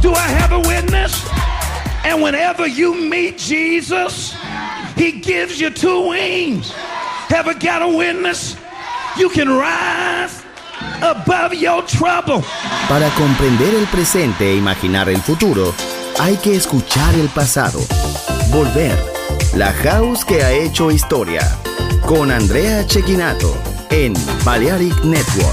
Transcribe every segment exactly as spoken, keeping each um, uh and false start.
Do I have a witness? And whenever you meet Jesus, he gives you two wings. Ever got a witness? You can rise above your trouble. Para comprender el presente e imaginar el futuro, hay que escuchar el pasado. Volver. La House que ha hecho historia. Con Andrea Cecchinato en Balearic Network.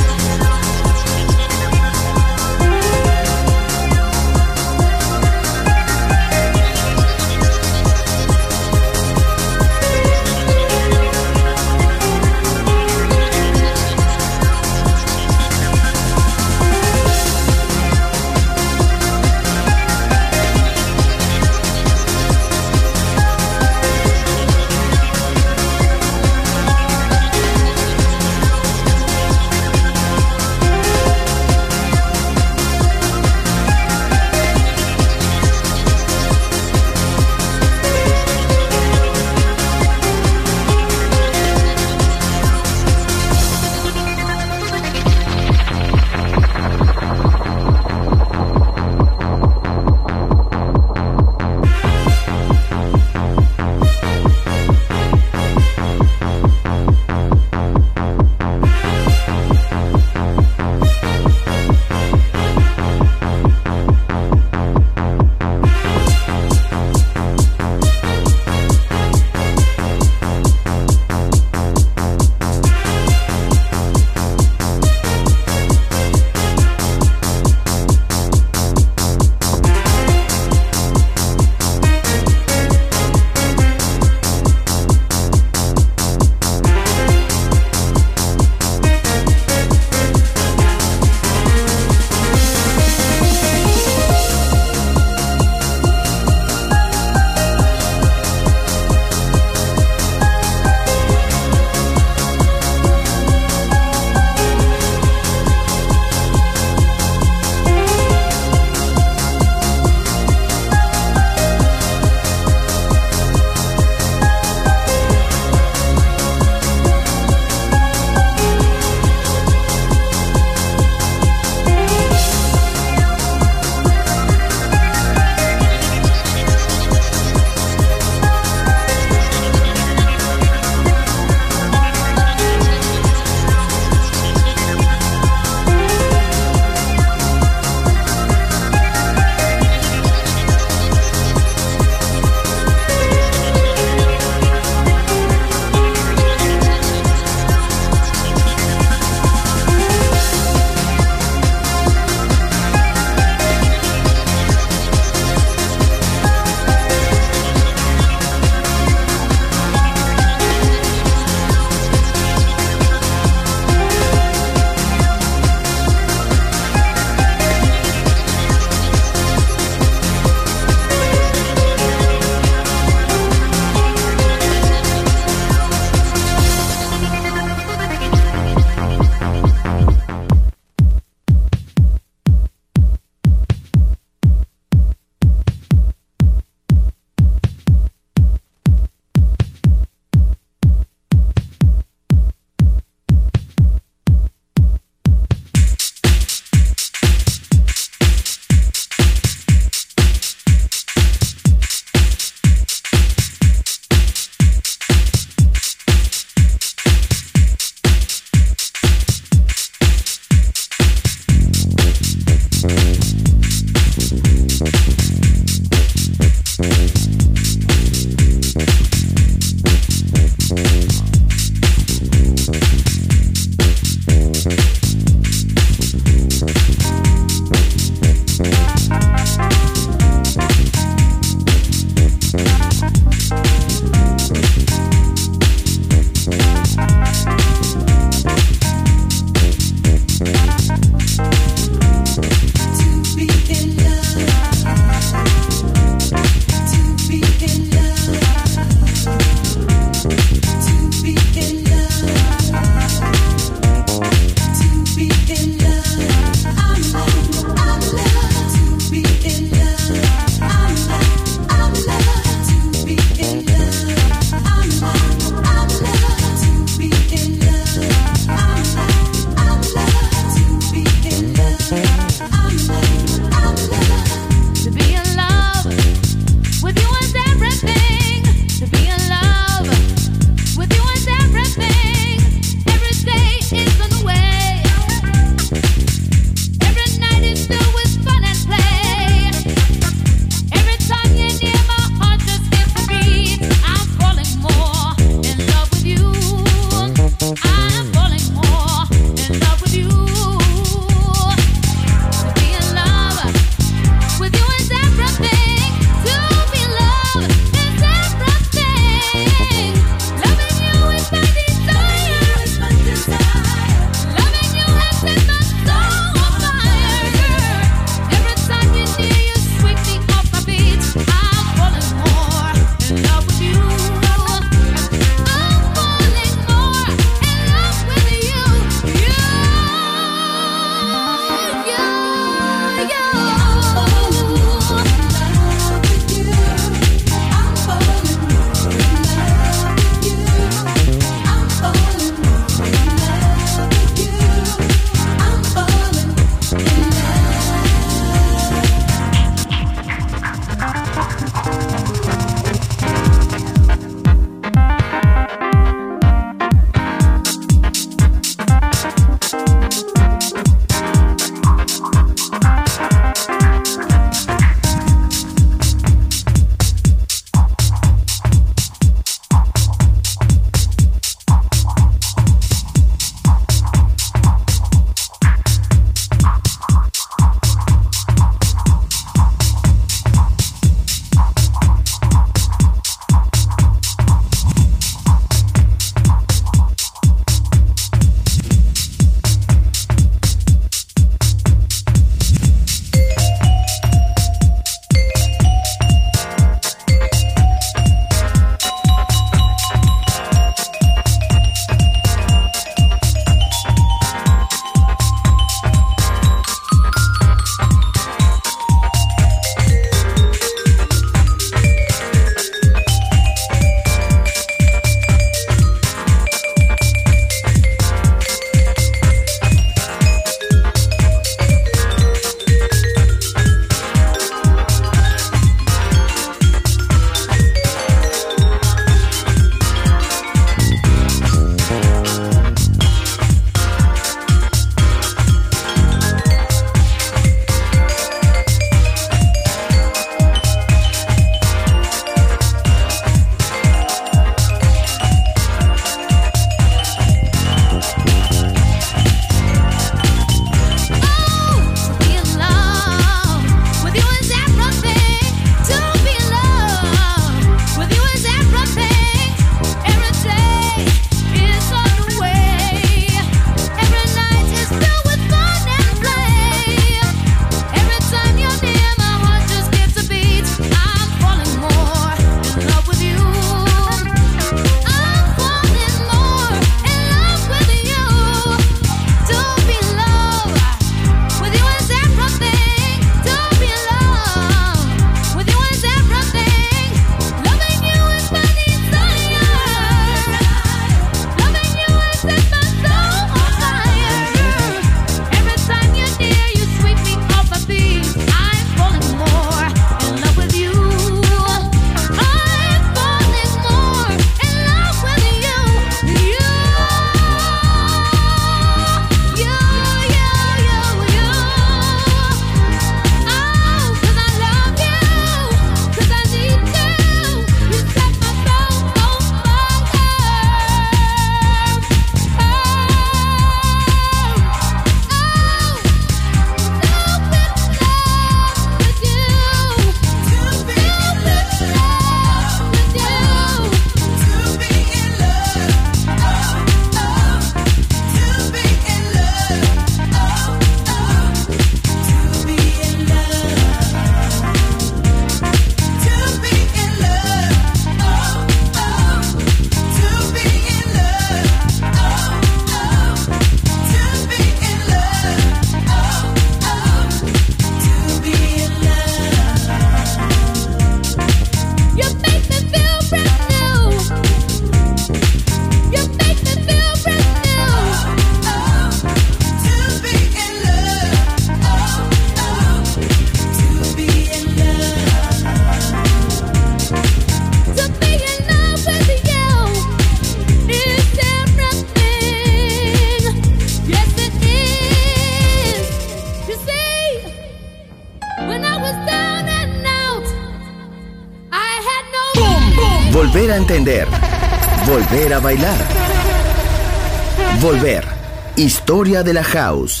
Volver a entender. Volver a bailar. Volver. Historia de la house.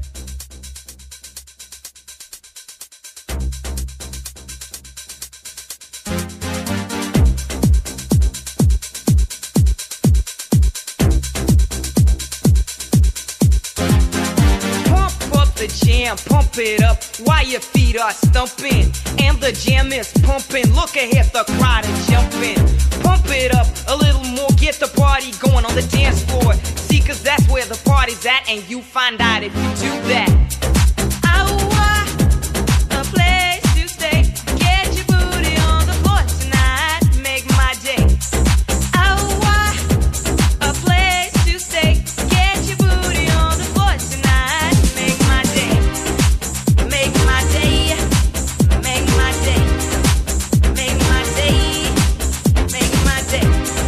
Pump it up while your feet are stumping and the jam is pumping. Look ahead, the crowd is jumping. Pump it up a little more, get the party going on the dance floor. See, cause that's where the party's at, and you find out if you do that. Oh, a place to stay. Get your booty on the floor tonight. Make my day. Oh, a place to stay. Get your booty on the floor tonight. Make my day. Make my day. Make my day. Make my day. Make my day.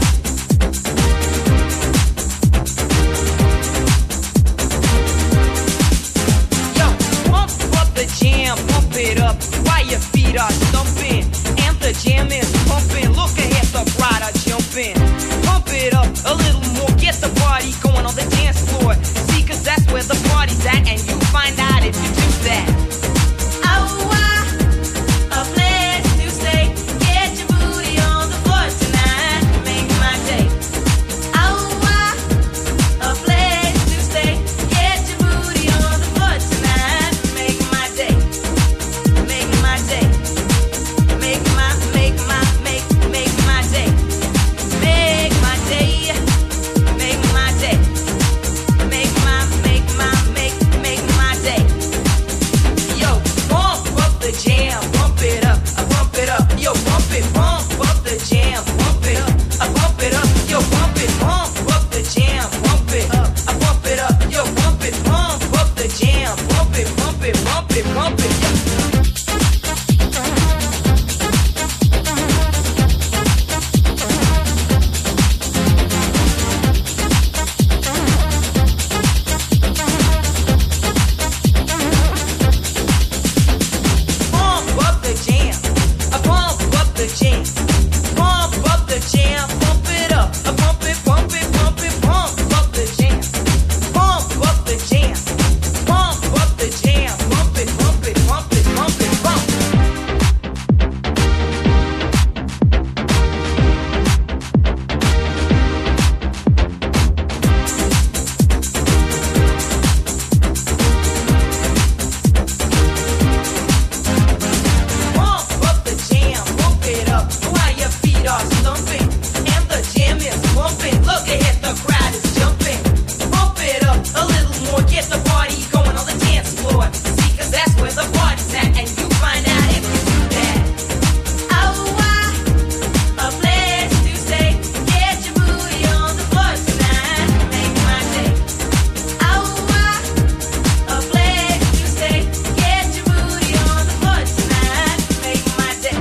Yo, pump up the jam, pump it up while your feet are stumping and the jam is pumping. Look ahead, the crowd are jumping. Pump it up a little more, get the party going on the dance floor. See, cause that's where the party's at, and you find out if you do that. Oh, a place to stay. Get your booty on the floor tonight. Make my day. Oh, a place to stay. Get your booty on the floor tonight. Make my day. Make my day. Make my, make my, make, make my day. Make my day. Make my day. Make my, make my, make, make my day. Yo, pump up the jam, pump it up, I pump it up. Yo, pump it, pump up the jam, pump it up, I pump it up. Yo, pump it, pump up the jam, pump it up, I pump it up. Yo, pump it, pump up the jam, pump it, pump it, pump it, pump it. Yo. Pump up the jam, I pump up the jam, pump up the jam, pump it up, I pump it, pump it, pump it, pump up the jam, pump up the jam, pump up the jam, pump it, pump it, pump it, pump it, pump. Pump up the jam, pump it up while your feet are stumping and the jam is pumping. Look ahead, the crowd is jumping. Pump it up a little more, get the party going on the dance floor. See, cause that's where the party's at, and you find out if you do that. Oh, a place to stay. Get your booty on the floor tonight. Make my day. Oh, a place to stay. Get your booty on the floor tonight. Make my day.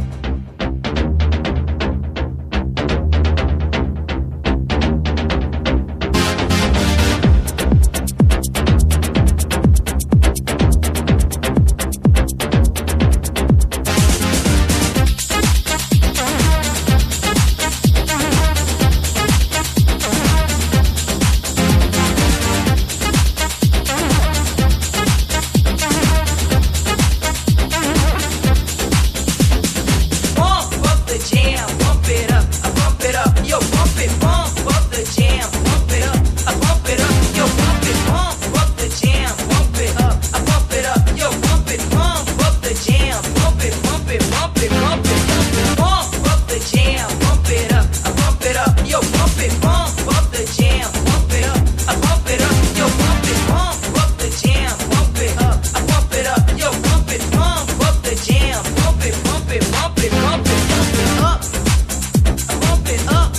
Pump up the jam, pump it up, I pump it up. Yo, pump it, pump up the jam, pump it up, I pump it up. Yo, pump it, pump up the jam, pump it up, I pump it up. Yo, pump it, pump up the jam, pump it, pump it, pump it, pump it, pump it. Pump up the jam, pump it up, I pump it up. Yo, pump it, pump up the jam, pump it up, I pump it up. Yo, pump it, pump up the jam, pump it up, I pump it up. Yo, pump it, pump up the jam, pump it, pump it, pump it, pump it, pump it up, I pump it up.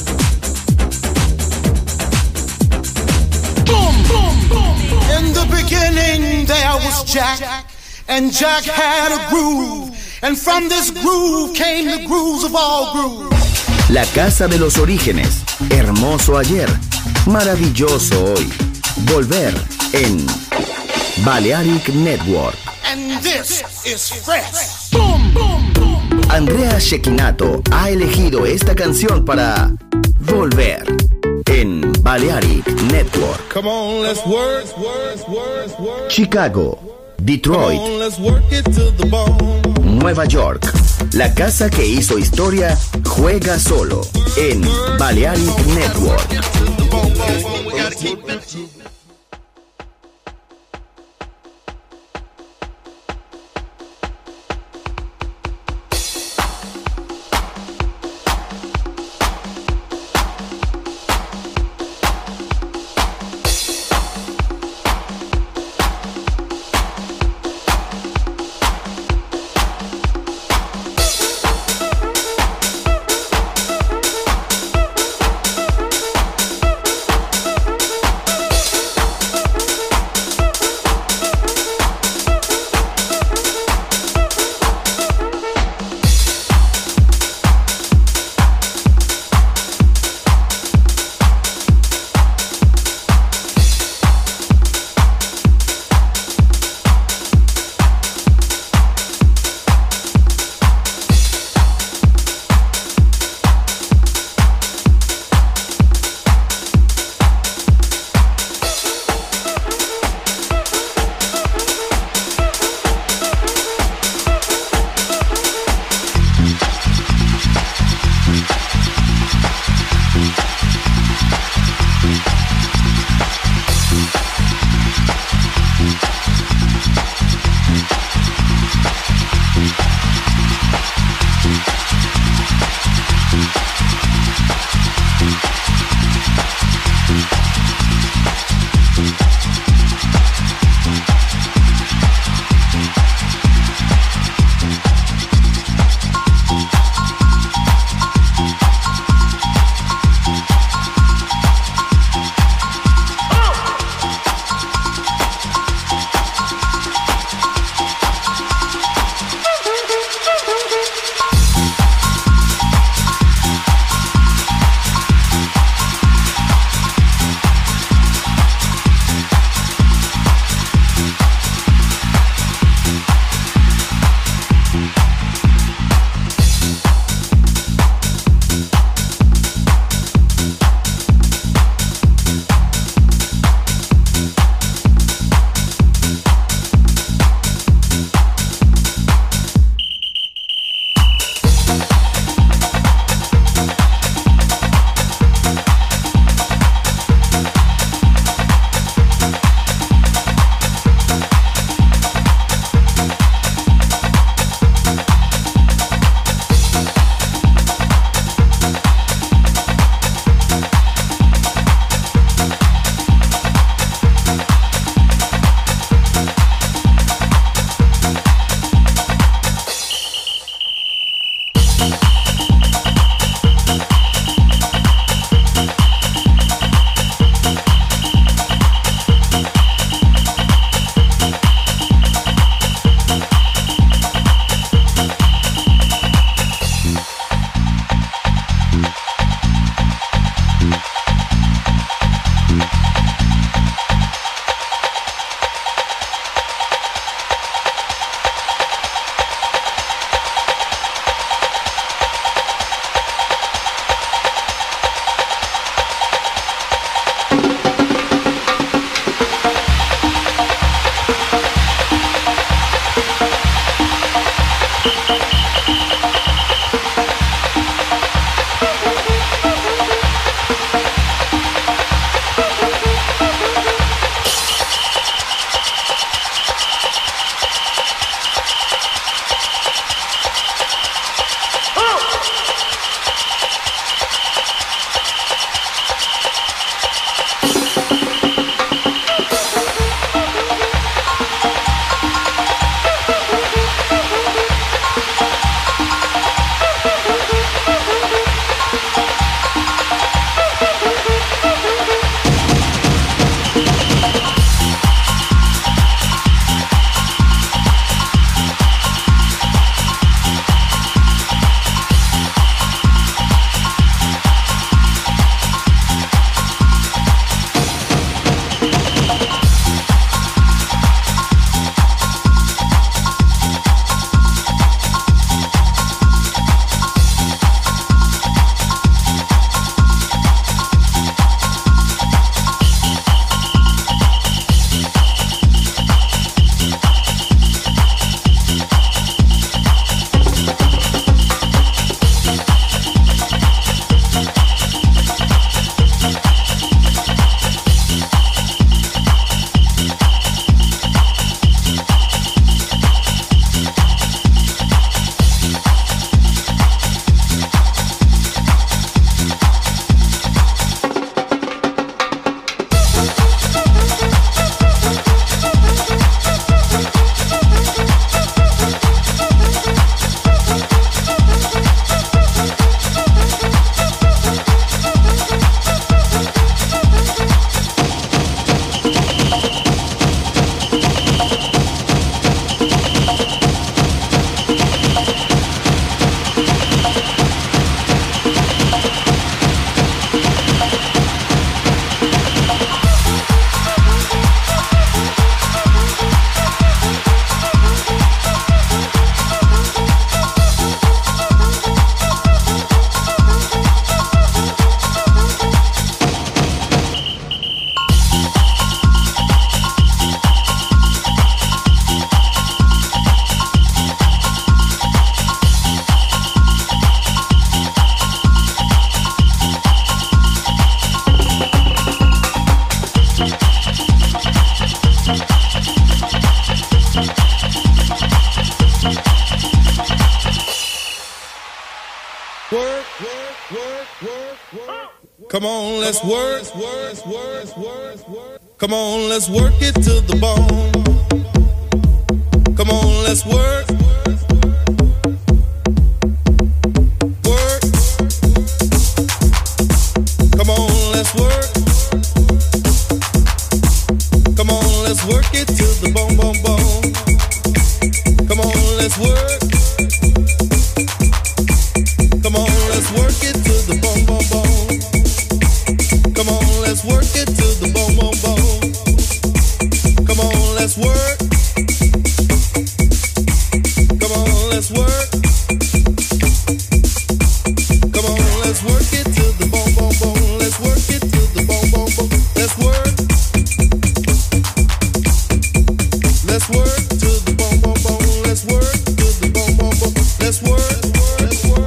Boom, boom, boom. In the beginning there was Jack, and Jack had a groove, and from this groove came the grooves of all grooves. La casa de los orígenes. Hermoso ayer. Maravilloso hoy. Volver en Balearic Network. And this is fresh. Boom, boom, boom. Andrea Cecchinato ha elegido esta canción para volver en Balearic Network. Come on, let's work, work, work, work. Chicago, Detroit, Come on, let's work it to the bone. Nueva York. La casa que hizo historia juega solo en Balearic Network. Work, work, work, work, work. Come on, let's work, work, work, work, work. Come on, let's work it to the bone. Come on, let's work. Work. Come on, let's work. Come on, let's work it to the bone, bone, bone. Come on, let's work. Come on, let's work it to the bone, bone, bone. Come on, let's work it to the bone, bone, bone. Come on, let's work. Come on, let's work. Come on, let's work it to the bone, bone, bone. Let's work it to the bone, bone, bone. Let's work. Let's work to the bone, bone, bone. Let's work to the bone, bone, bone. Let's work. Let's work.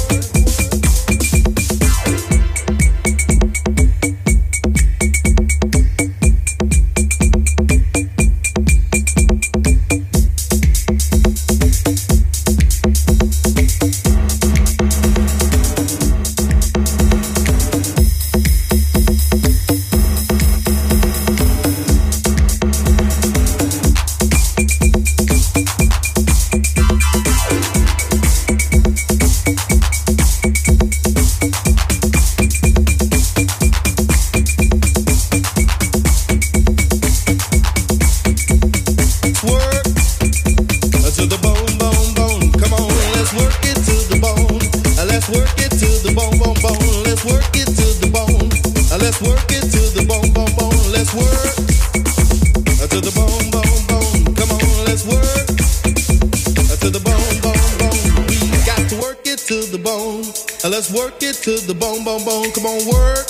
To the bone, bone, bone, come on, work.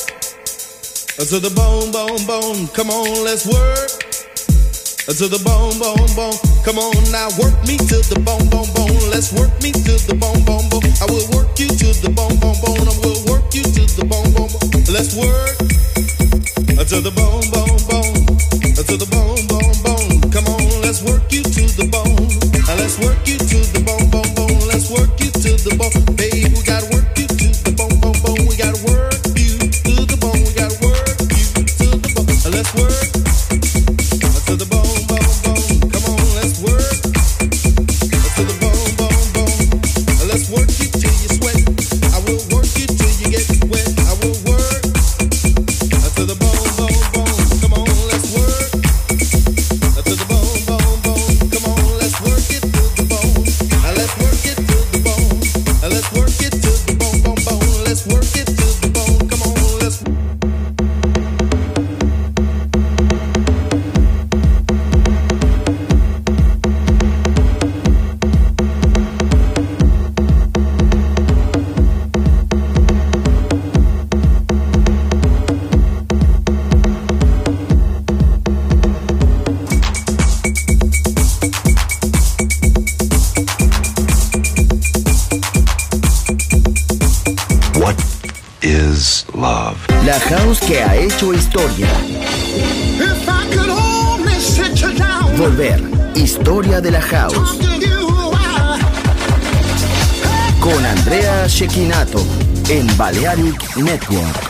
To the bone, bone, bone, come on, let's work. To the bone, bone, bone, come on now, work me to the bone, bone, bone. Let's work me to the bone, bone, bone. I will work you to the bone, bone, bone. I will work you to the bone, bone, bone. Let's work. To the bone, bone, bone. To the bone, bone, bone. Come on, let's work you to the bone. Let's work you to the bone, bone, bone. Let's work you to the bone. Babe, we gotta work you to the bone, bone, bone. We gotta work you to the bone. We gotta work you to the bone. Let's work to the bone, bone, bone. Come on, let's work to the bone, bone, bone. Let's work you till you sweat. I will work you till you get wet. I will work to the bone, bone, bone. Come on, let's work to the bone, bone, bone. Come on, let's work it to the bone. Let's work it to the bone. Let's work it to the bone, bone, bone. Let's work it to the bone. Come on, let's. is love. La house que ha hecho historia. If I could only sit you down. Volver. Historia de la house. Con Andrea Cecchinato en Balearic Network.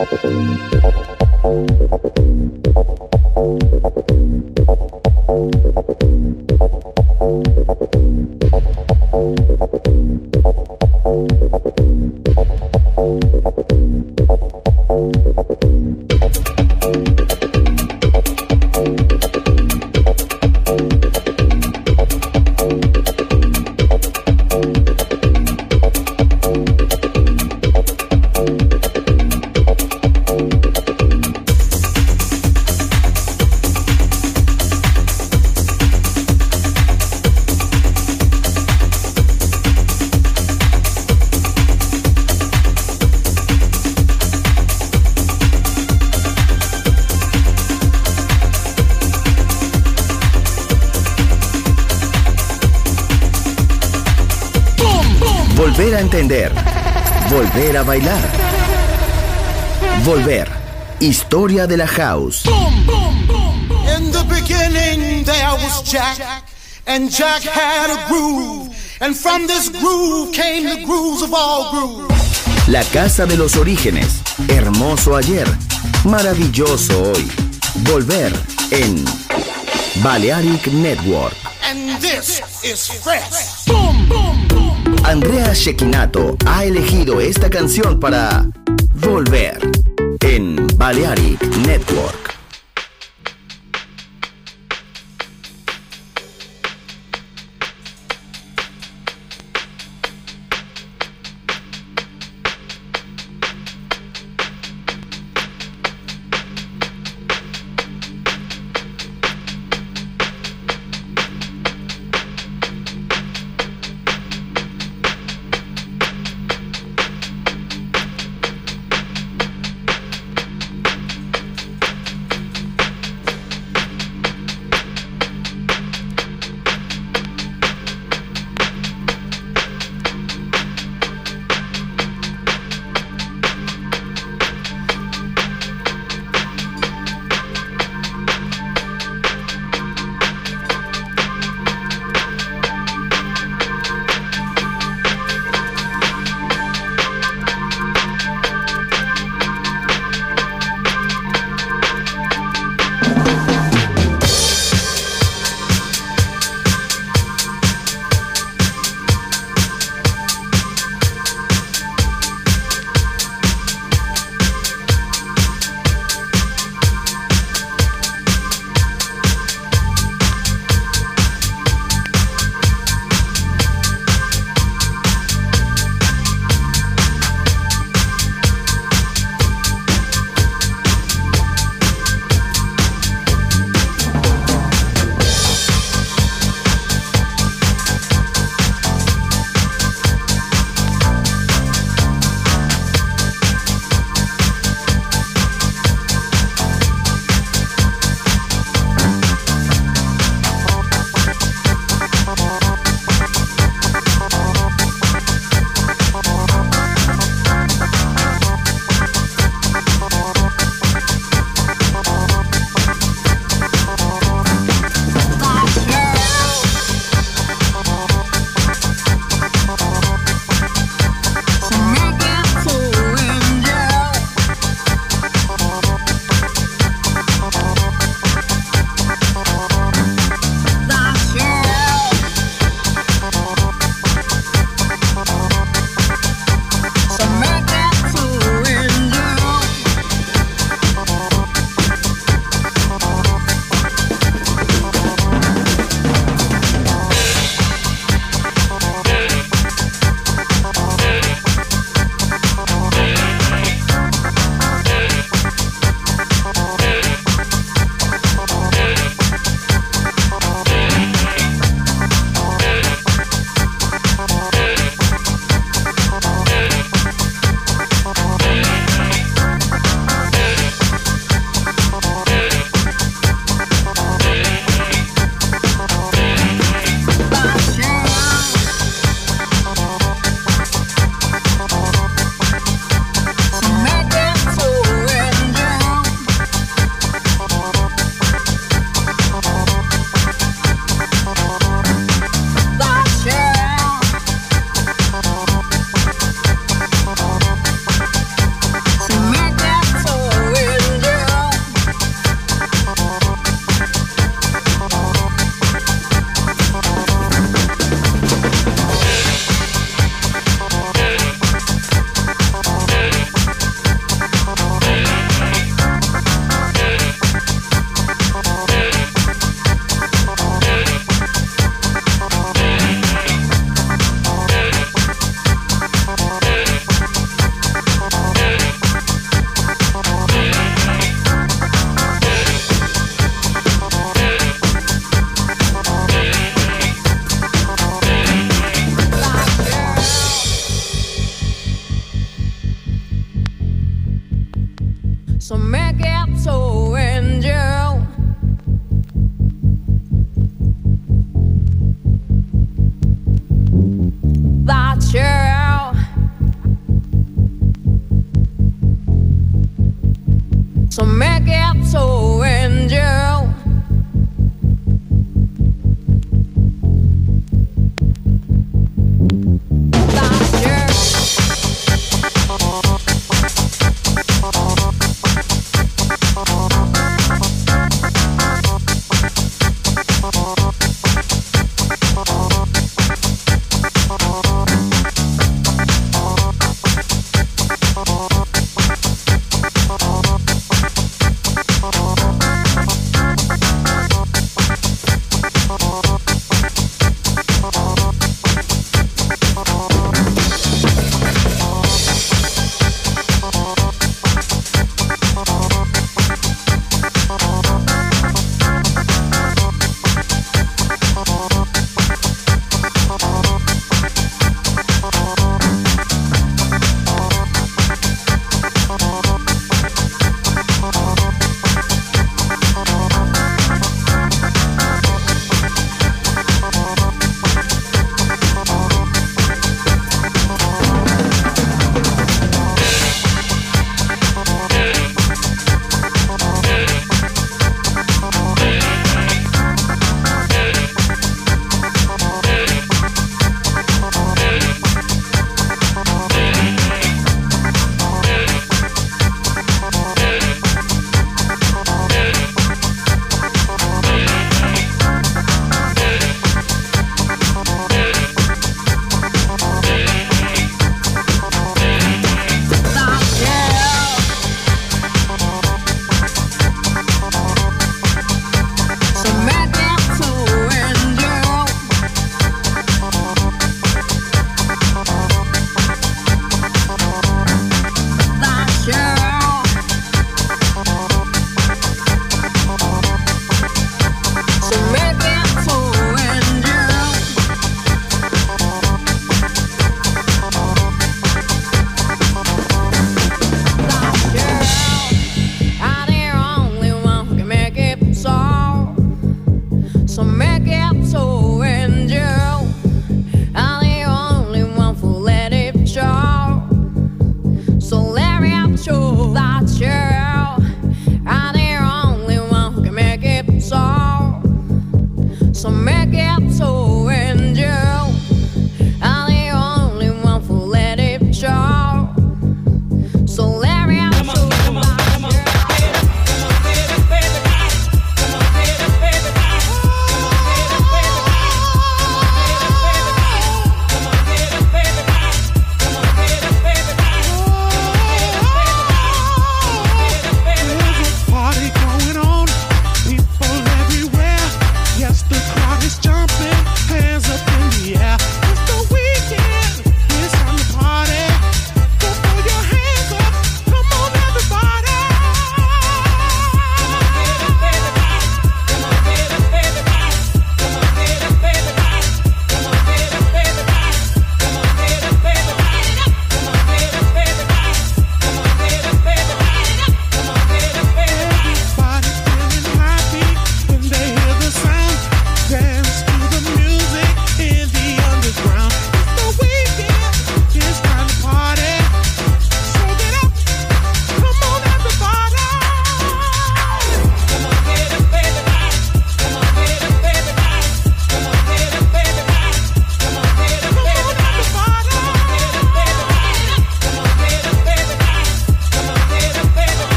Volver a entender. Volver a bailar. Volver. Historia de la house. In the beginning there was Jack, and Jack had a groove, and from this groove came the grooves of all grooves. La casa de los orígenes. Hermoso ayer. Maravilloso hoy. Volver en Balearic Network. And this is fresh. Andrea Cecchinato ha elegido esta canción para Volver en Balearic Network.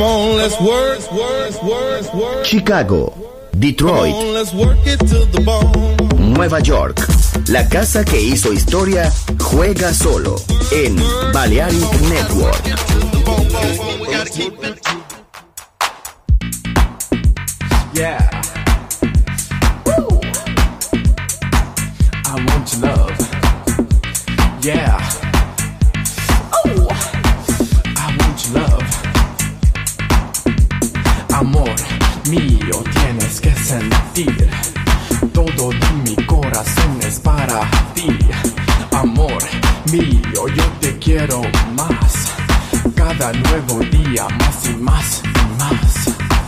Come on, let's work, work, work, work. Chicago, Detroit, Come on, let's work it to the bone. Nueva York. La casa que hizo historia juega solo en Balearic Network. Yeah. Woo. I want your love. Yeah. Oh. I want your love. Amor mío, tienes que sentir. Todo de mi corazón es para ti. Amor mío, yo te quiero más. Cada nuevo día más y más y más.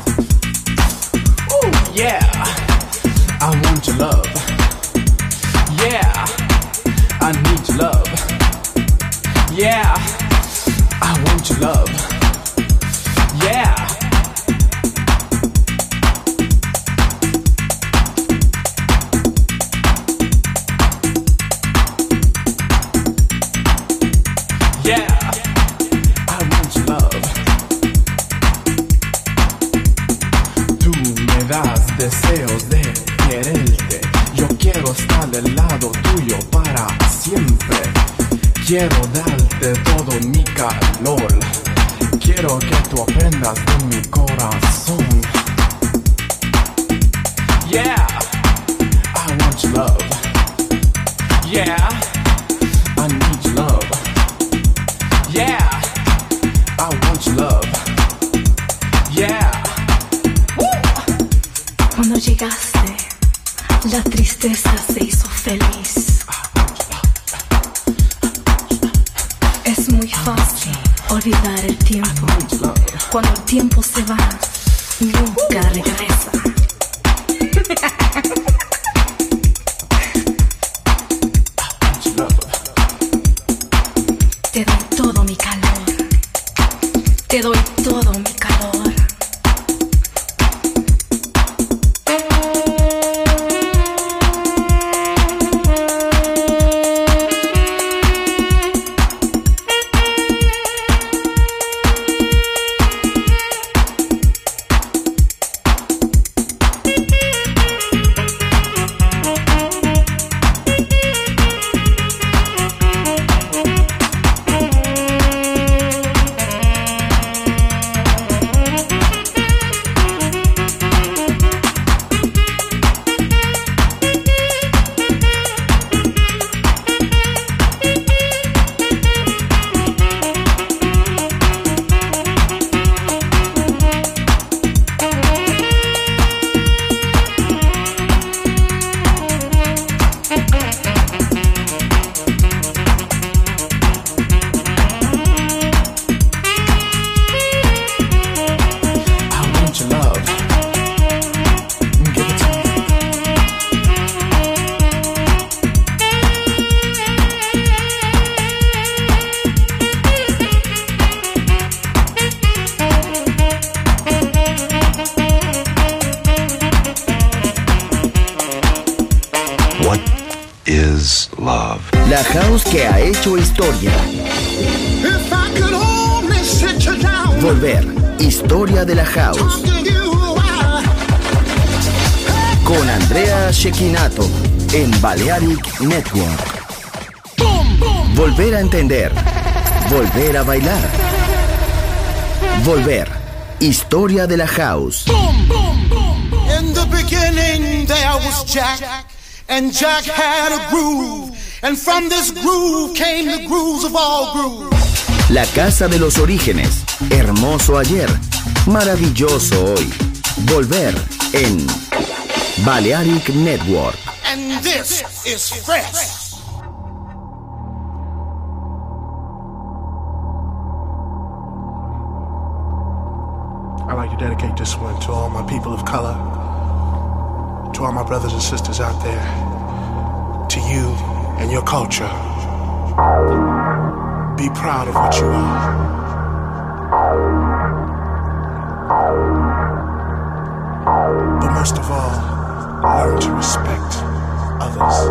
Ooh, yeah. I want your love. Yeah. I need your love. Yeah. I want your love. Yeah. Yeah, I want your love. Tú me das deseos de quererte. Yo quiero estar del lado tuyo para siempre. Quiero darte todo mi calor. Quiero que tú aprendas de mi corazón. Yeah, I want your love. Yeah, I need your love. Yeah, I want your love. Yeah. Woo. Cuando llegaste, la tristeza se hizo feliz. Es muy fácil olvidar el tiempo. Cuando el tiempo se va, nunca regresa. Te doy todo mi calor. Te doy todo mi calor. La house que ha hecho historia. Volver, historia de la house. Con Andrea Cecchinato en Balearic Network. Volver a entender. Volver a bailar. Volver, historia de la house. In the beginning there was Jack, and Jack had a groove, and from this groove came the grooves of all grooves. La casa de los orígenes, hermoso ayer, maravilloso hoy. Volver en Balearic Network. And this is fresh. I'd like to dedicate this one to all my people of color, to all my brothers and sisters out there, to you and your culture. Be proud of what you are. But most of all, learn to respect others.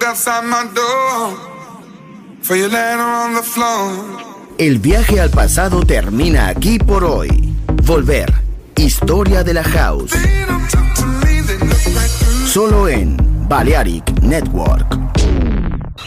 outside my door. For you later on the floor. El viaje al pasado termina aquí por hoy. Volver. Historia de la House. Solo en Balearic Network.